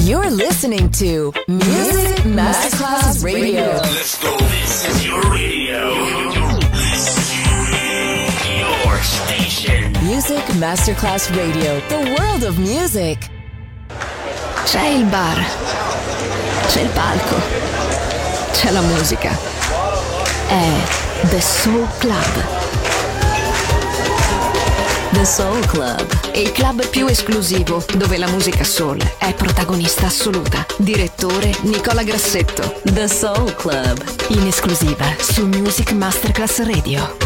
You're listening to Music Masterclass Radio. Let's go. This is your radio. Your station. Music Masterclass Radio. The world of music. C'è il bar. C'è il palco. C'è la musica. È The Soul Club. The Soul Club. Il club più esclusivo dove la musica soul è protagonista assoluta. Direttore Nicola Grassetto. The Soul Club. In esclusiva su Music Masterclass Radio.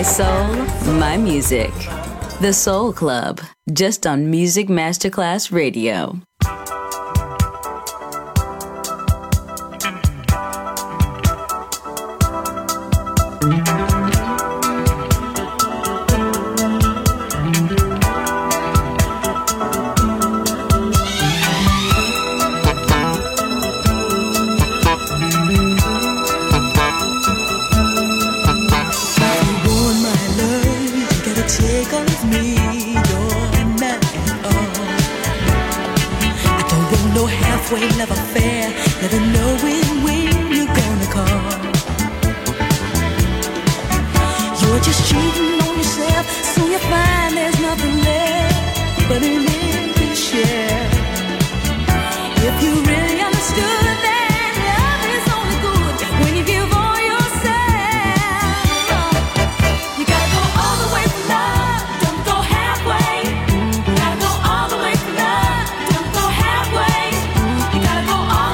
My soul, my music. The Soul Club, just on Music Masterclass Radio. Love affair, never knowing when you're gonna call. You're just cheating on yourself, so you find there's nothing left but an empty shell. If you really understood that love is only good when you give all yourself, you gotta go all the way for love, don't go halfway. You gotta go all the way for love, don't go halfway. All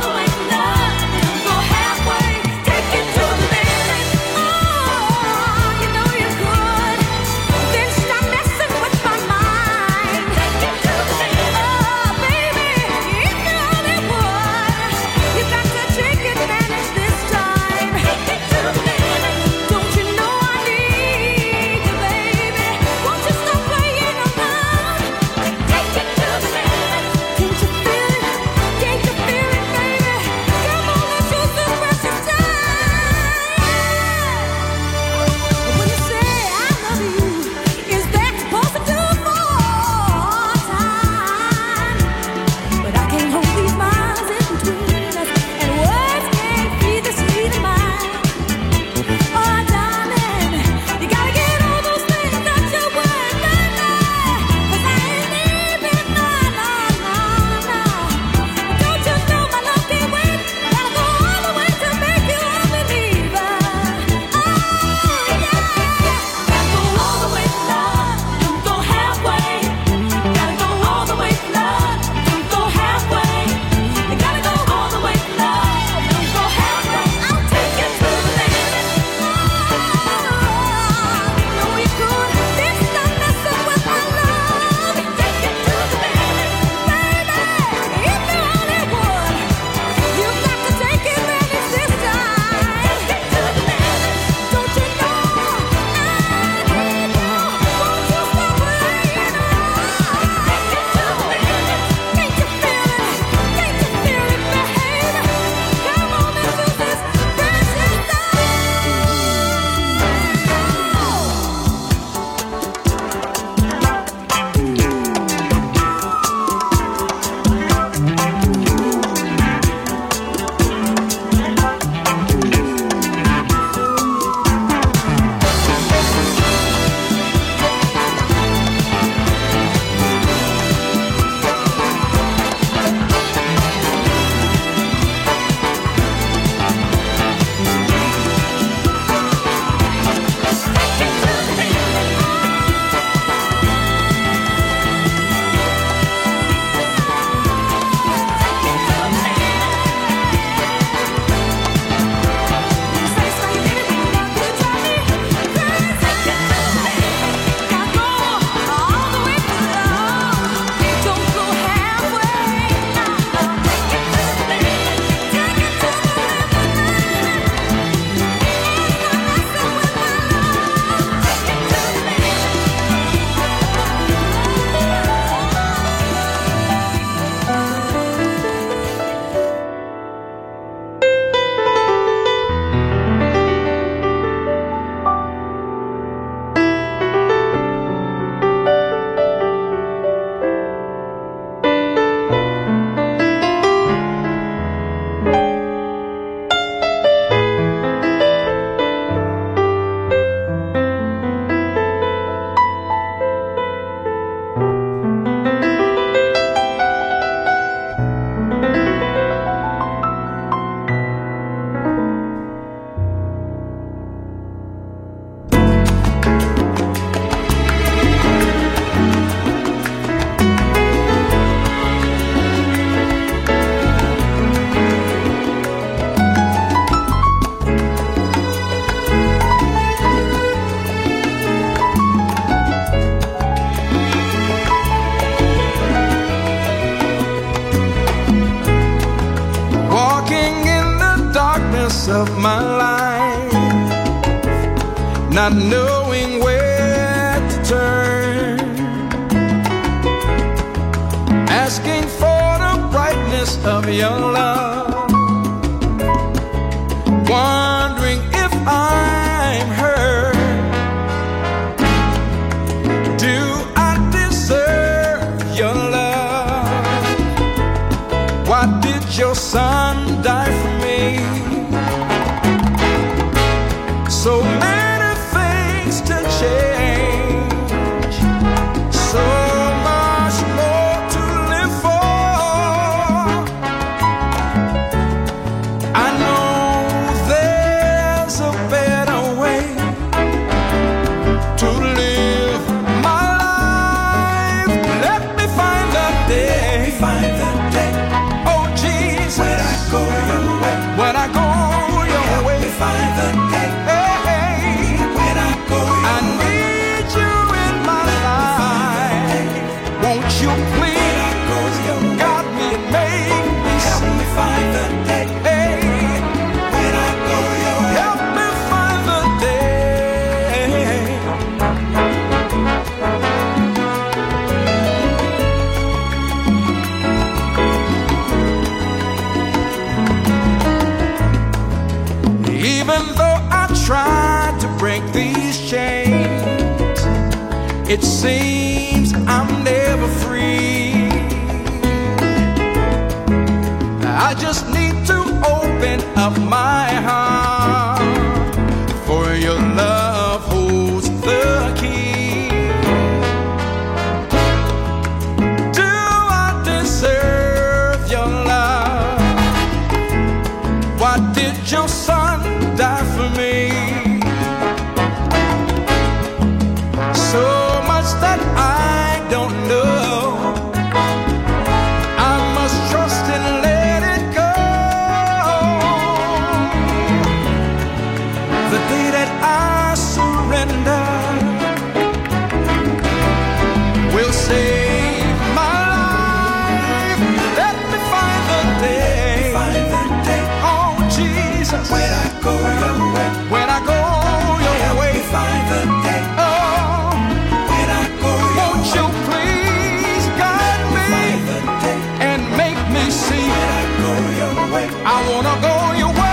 of my life, not knowing where to turn, asking for the brightness of your love, wondering if I'm hurt. Do I deserve your love? Why did your son die for me? So many things to change, so much more to live for. I know there's a better way to live my life. Let me find the day, oh Jesus, when I go your way, when I go your way, find the day. You please guide me and make me help me find the day. Hey, when I go your way, help me find the day. Even though I tried to break these chains, it seems I'm never free. I just need to open up my heart, for your love holds the key. Do I deserve your love? Why did your son die for me? So much that I don't know. I must trust and let it go. The day that I surrender will save my life. Let me find the day, oh Jesus, when I go your way, when I go your way, find the day. I wanna go your way.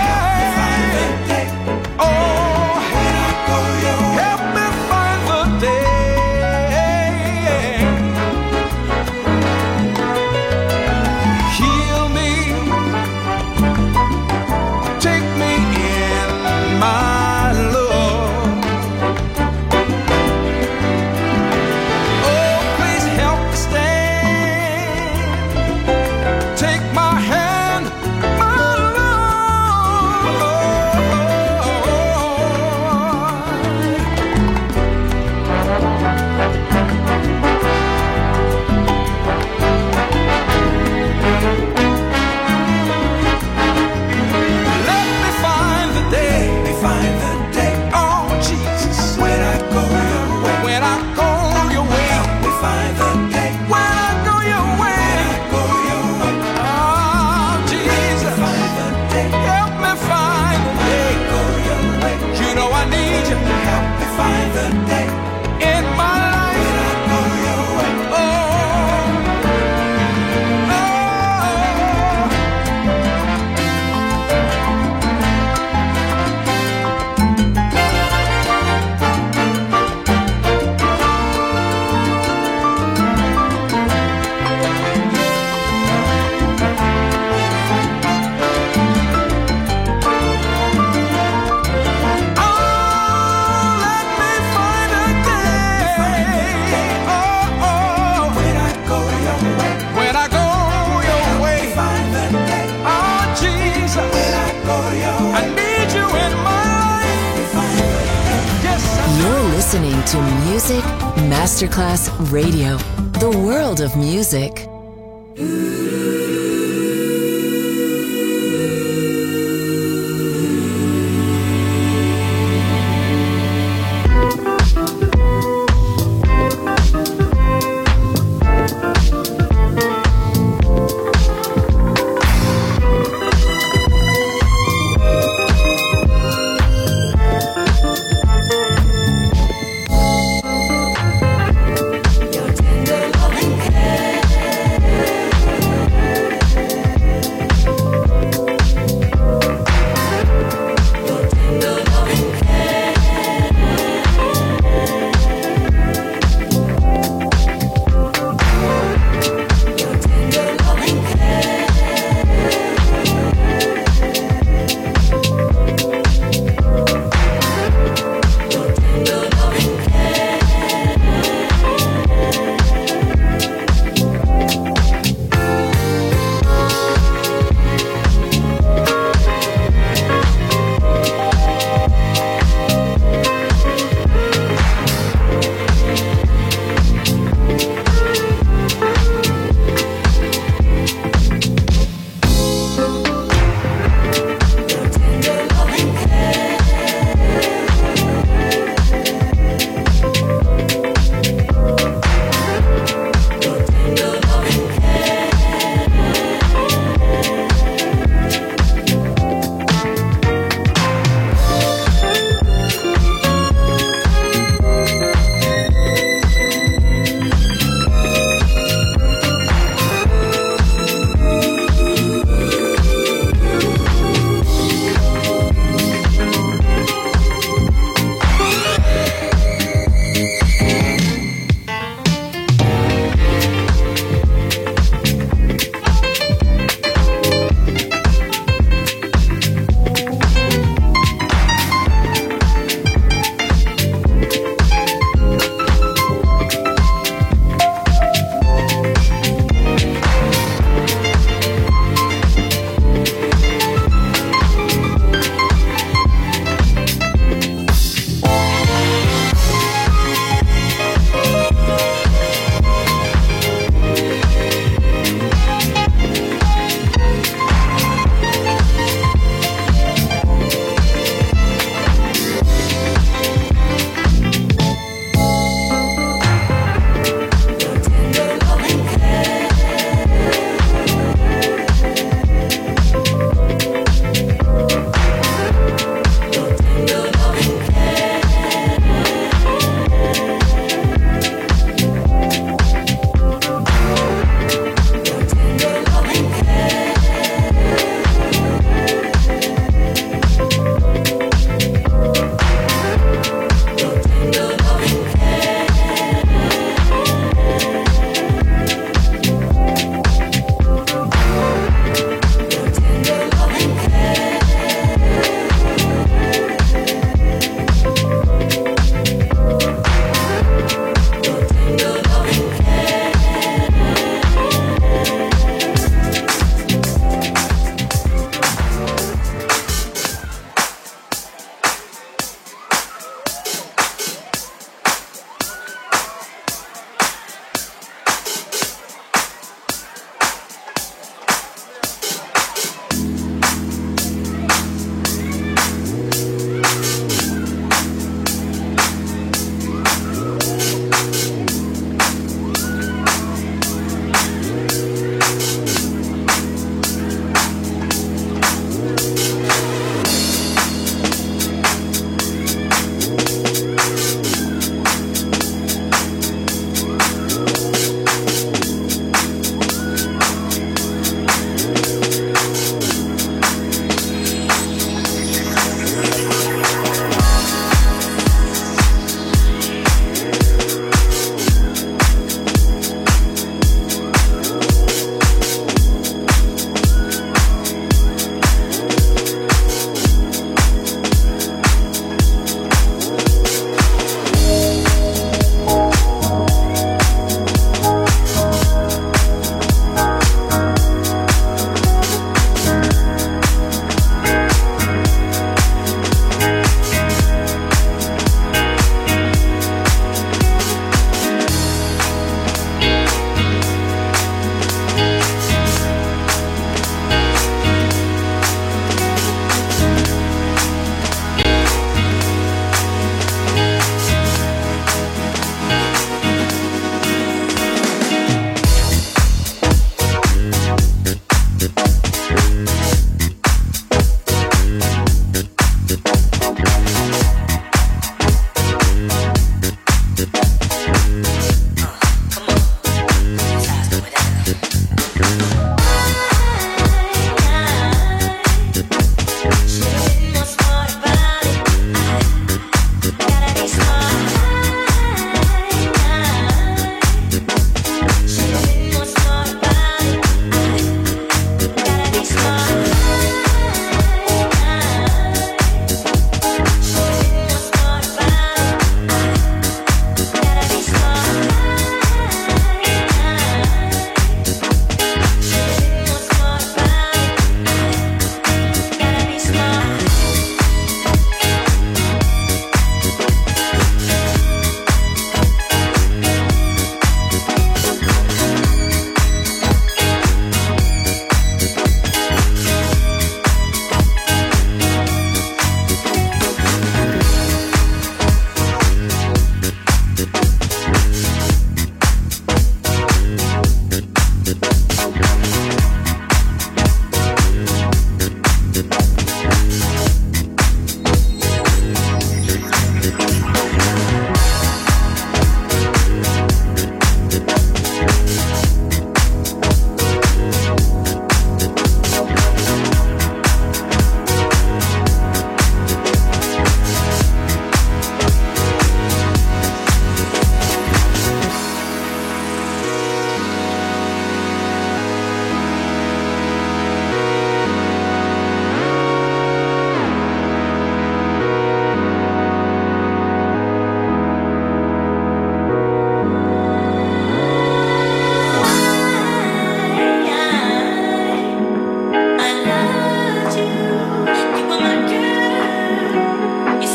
Oh, when I go your way, help me find the day. Heal me, take me in my love. Oh, please help me stand. Take my hand. Listening to Music Masterclass Radio, the world of music.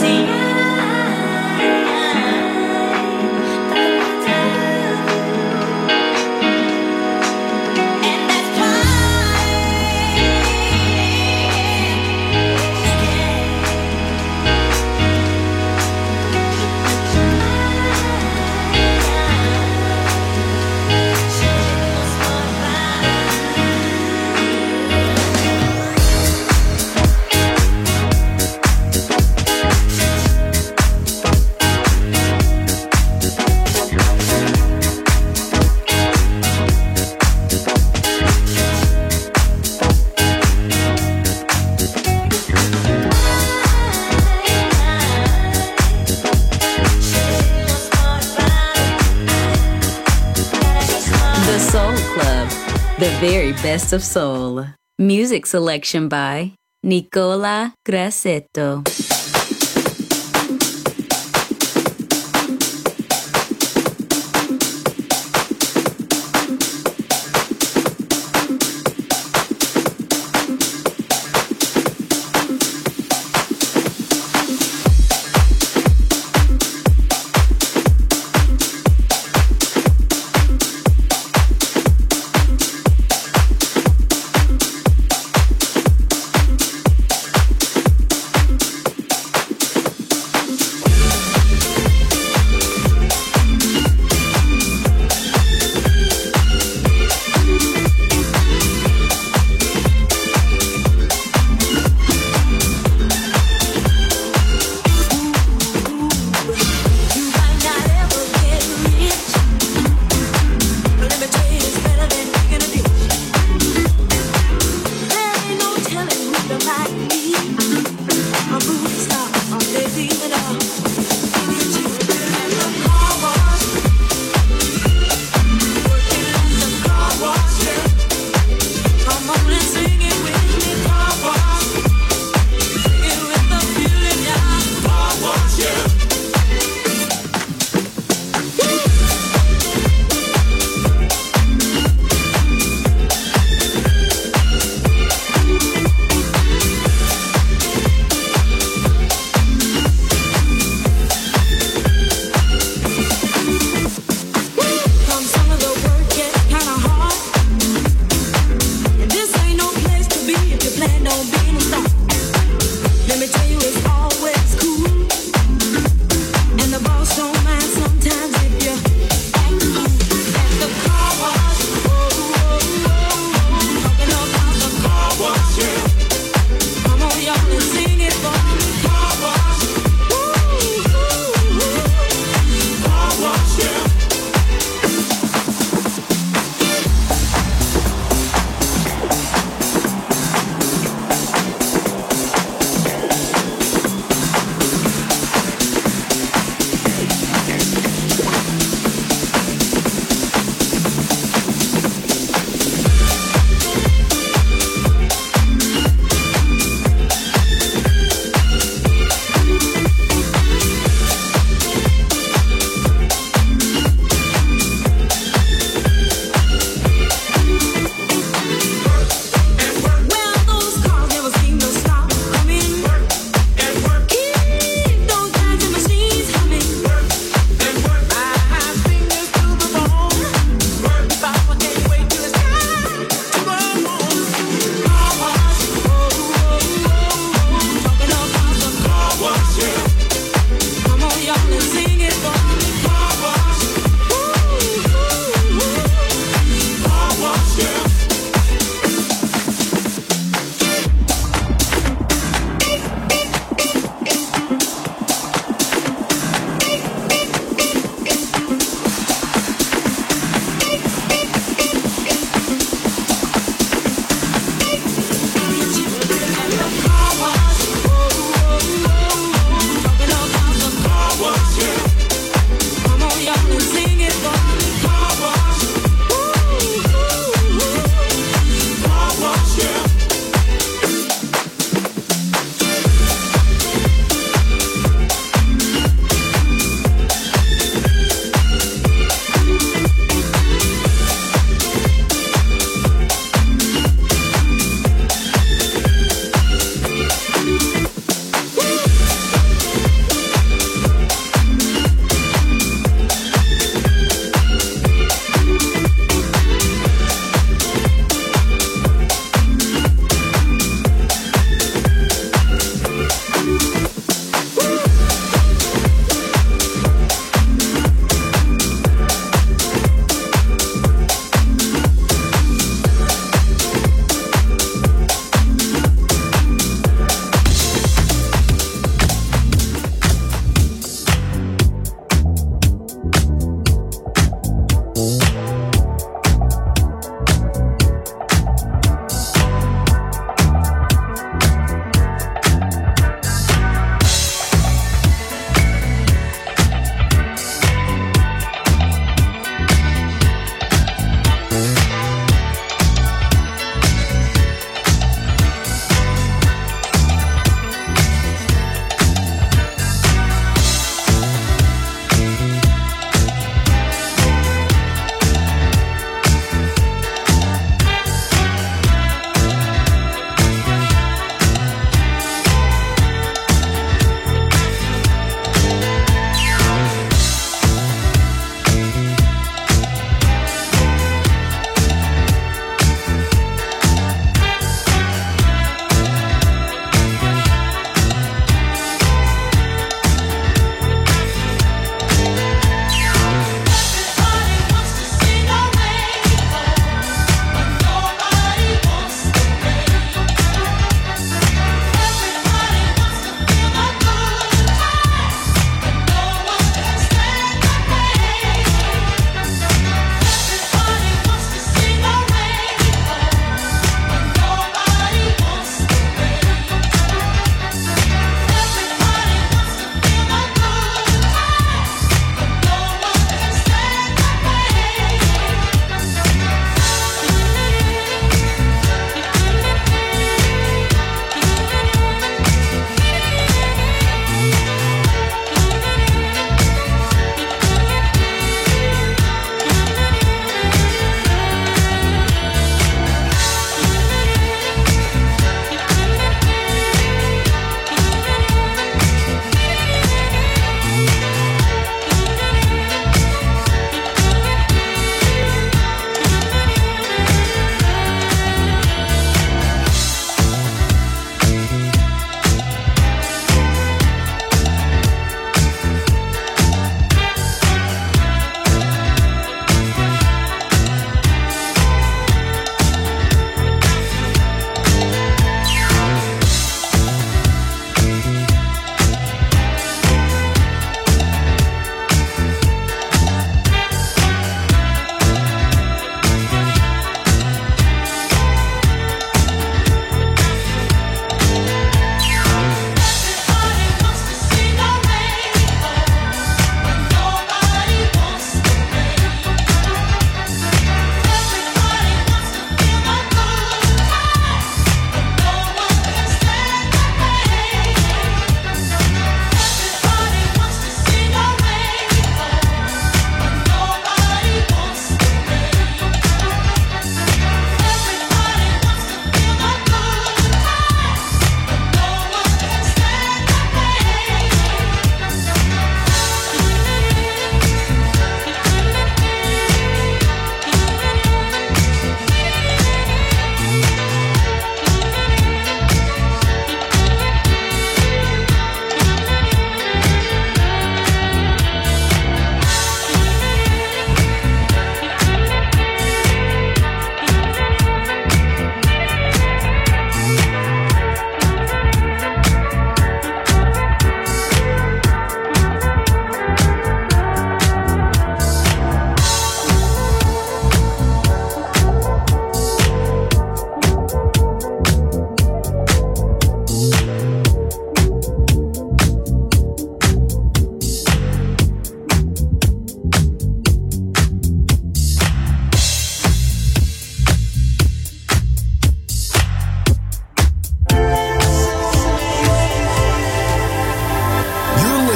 The very best of soul. Music selection by Nicola Grassetto.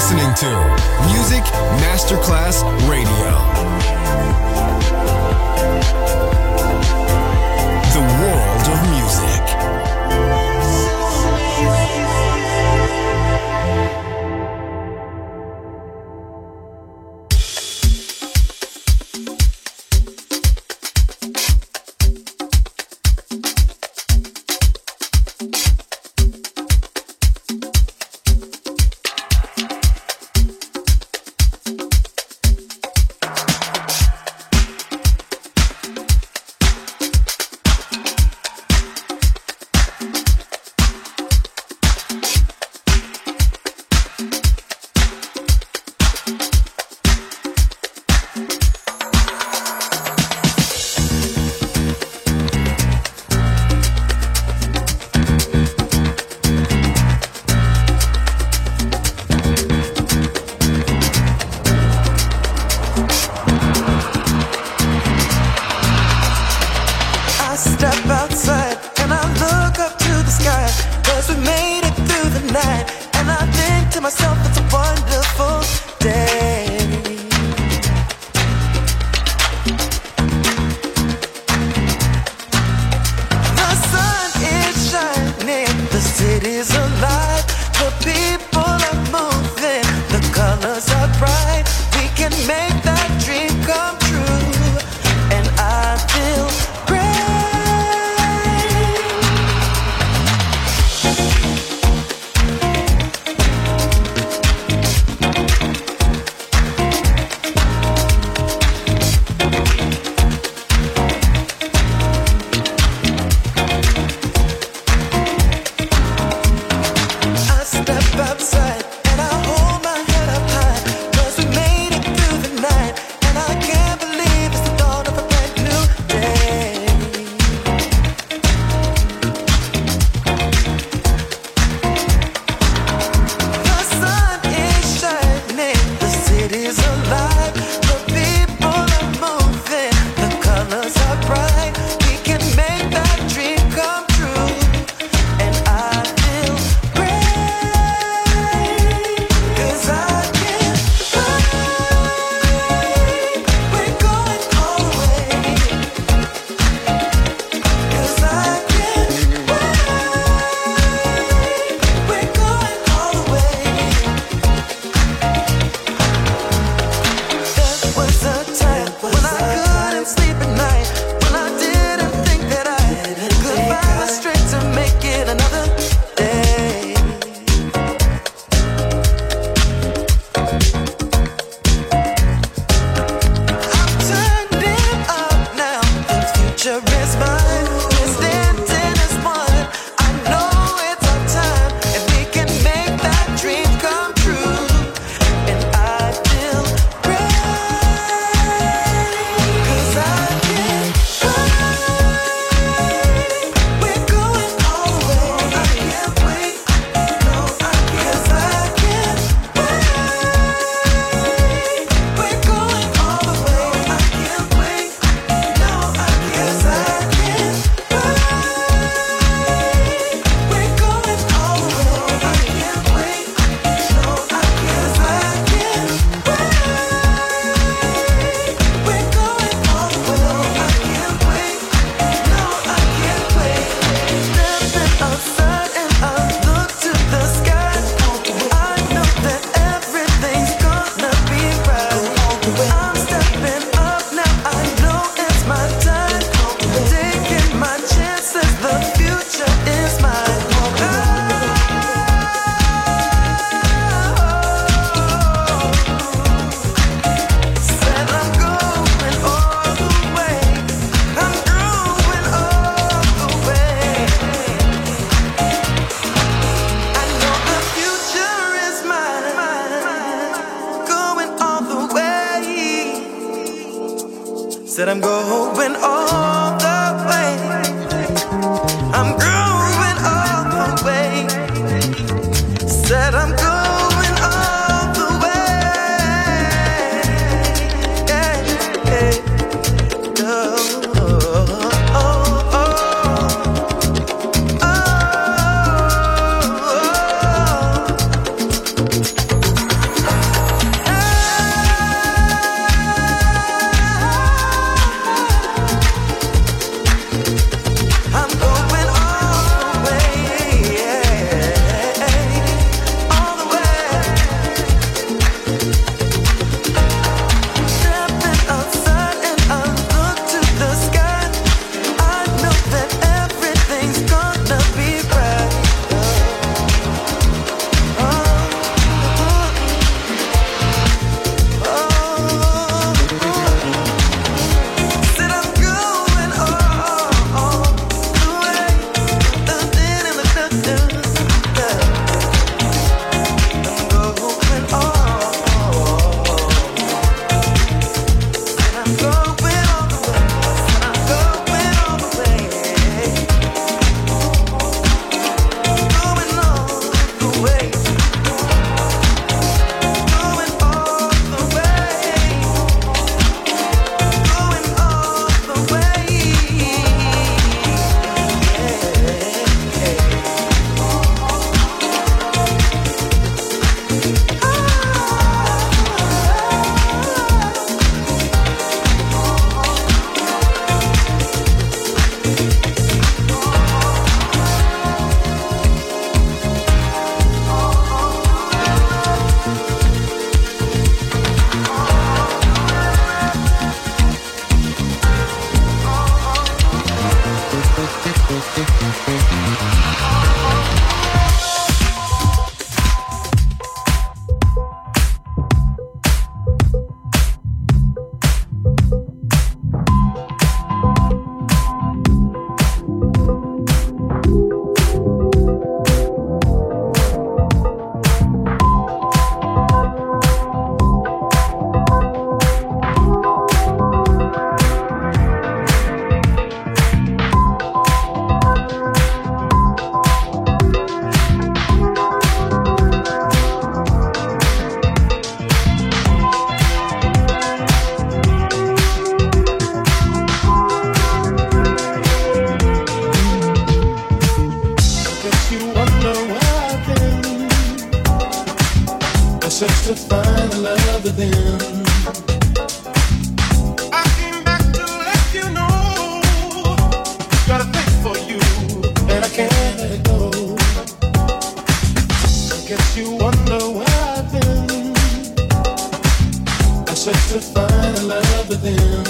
listening to Music Masterclass Radio. The world of music. Said I'm going all the way. I'm growing all the way. Said I'm going all the way. Yeah, yeah. Oh, oh, oh, oh, oh. search to find the love within. I came back to let you know, got a thing for you, and I can't let it go. I guess you wonder where I've been. I search to find the love within.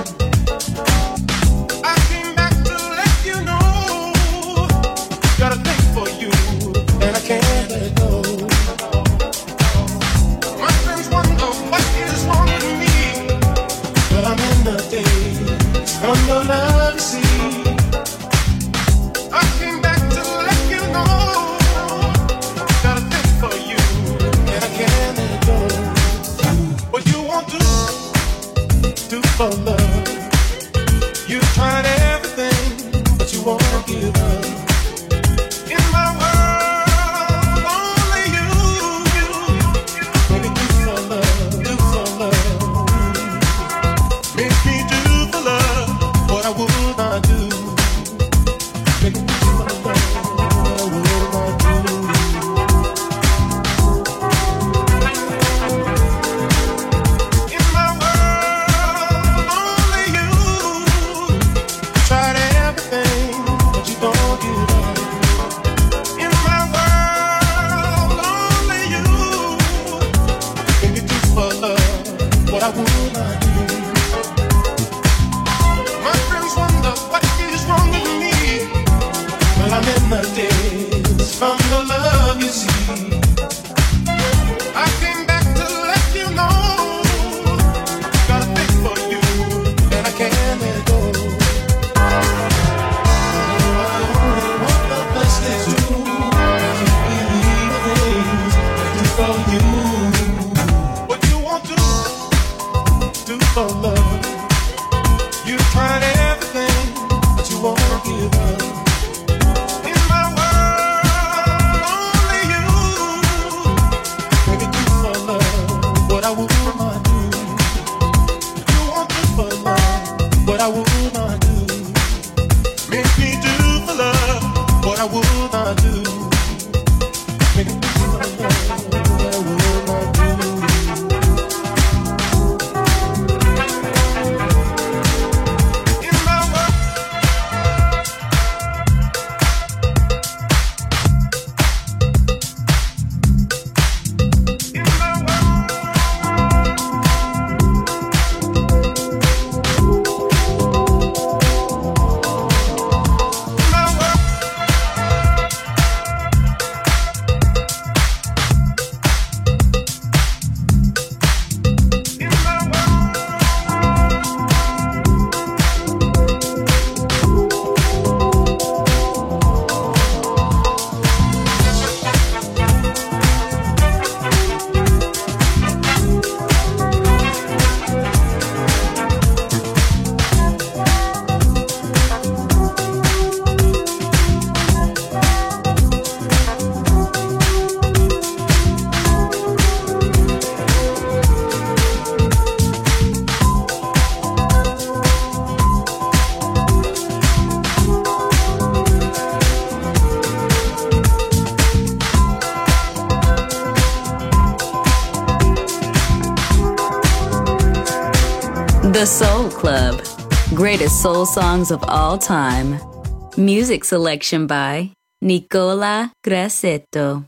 I came back to let you know, got a thing for you, and I can't let it go. My friends wonder what is wrong with me, but I'm in the days from your love, you see. I came back to let you know, got a thing for you, and I can't let it go. What you want to do for love? You tried everything, but you won't give up. In my world, only you. Baby, do for love. Make me do for love what I would not do. Make me do for love what I would not do. In my world, only you. Tried everything, but you don't give up. In my world, only you. Make me do for love what I would not do. My friends wonder what is wrong with me. Well, I'm in the days from the love you see. I came back to let you know, got a thing for you, and I can't let it go. I only want the best is you. You believe the things I do for you. What you want to do for love? You tried everything, but you won't give up. In my world, only you. Baby, do for love what I would not do. You want to for love what I would not do. Make me do for love what I would not do. Make me do for love what I would not do. In my world, in my world, The Soul Club. Greatest soul songs of all time. Music selection by Nicola Grassetto.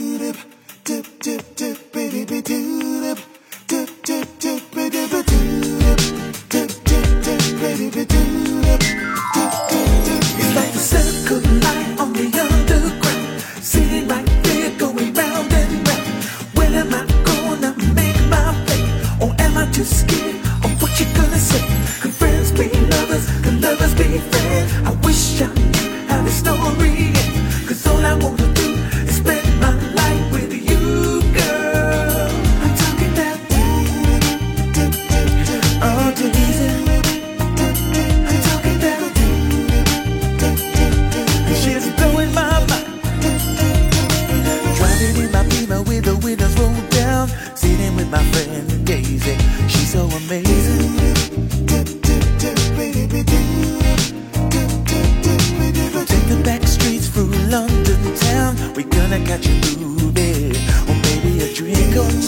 It's like a circle light on the underground, sitting right there going round and round. When am I gonna make my play? Or am I just scared of what you're gonna say? Can friends be lovers? Can lovers be friends? I wish I knew how the story ends, 'cause all I wanna do is spend my life with you, girl. I'm talking about oh, Daisy. I'm talking about she's blowing my mind. Driving in my Beamer with the windows rolled down, sitting with my friend Daisy. She's so amazing. Take the back streets through London town. We're gonna catch a movie, or maybe a drink or two.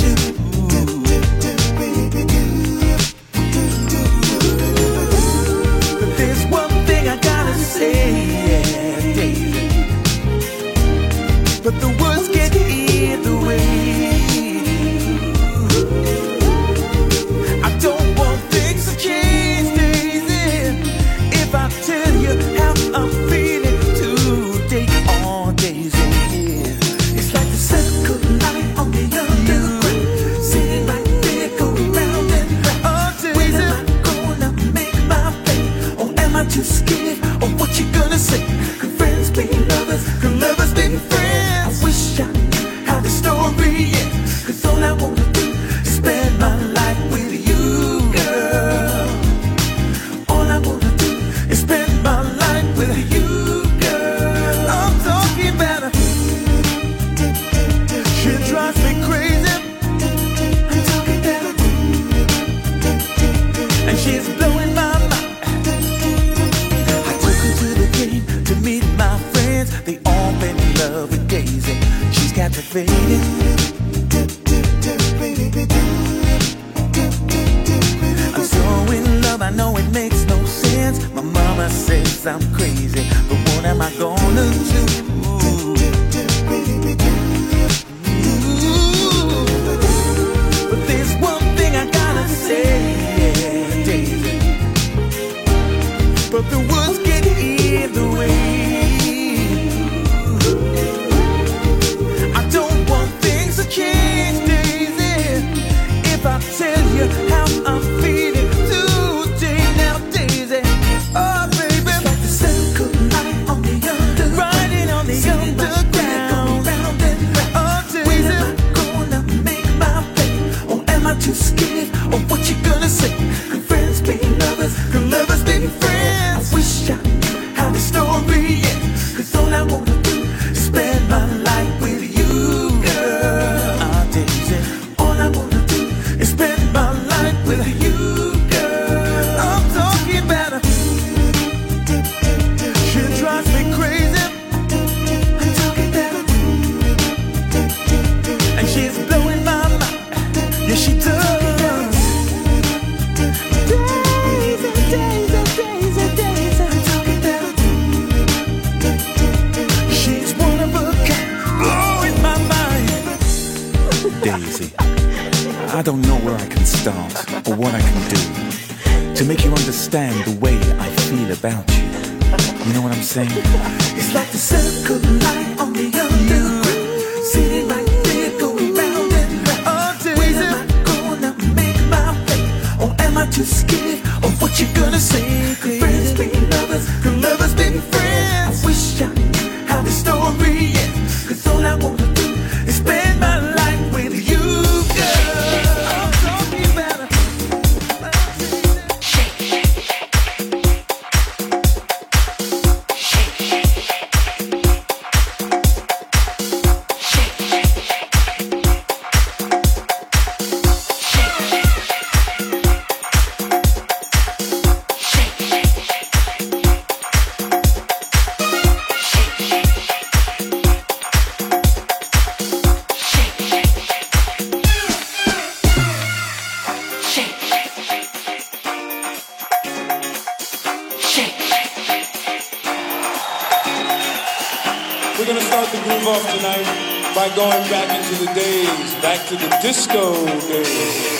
I'm crazy, but what am I gonna do? But there's one thing I gotta say, Daisy. But the words get in the way. I don't want things to change, Daisy. If I tell you how I'm feeling today, now, Daisy. Oh, baby, it's like the circle light on the underground, riding on the underground. Oh, Daisy, am I gonna make my way, or am I too scared of what you're gonna say? Could friends be lovers? Could lovers be friends? I wish I knew how the story ends, 'cause all I wanna do is spend my life with you, girl. Ah, Daisy, all I wanna do is spend my life with you, girl. I'm talking about her. She drives me crazy. I'm talking about her. And she's blowing my mind. Yeah, she does. Daisy, Daisy, Daisy, Daisy. I'm talking about her. She's one of a kind, blowing my mind. Daisy, I don't know where I can start or what I can do to make you understand the way I feel about you. You know what I'm saying? It's like the circle light on the underground, sitting right there going round and round. Oh, Daisy, am I gonna make my way, or am I too scared of what you're gonna say? Could friends be lovers? Could lovers be friends? I wish I knew how the story ends, 'cause all I wanna do is spend my life with you, girl. I'm talking about her. We're gonna start the groove off tonight by going back into the days, back to the disco days.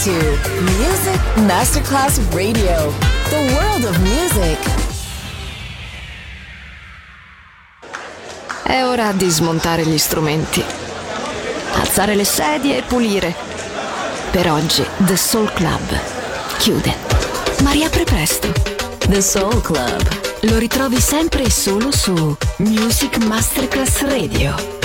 to Music Masterclass Radio, the world of music. È ora di smontare gli strumenti, alzare le sedie e pulire. Per oggi The Soul Club chiude, ma riapre presto. The Soul Club. Lo ritrovi sempre e solo su Music Masterclass Radio.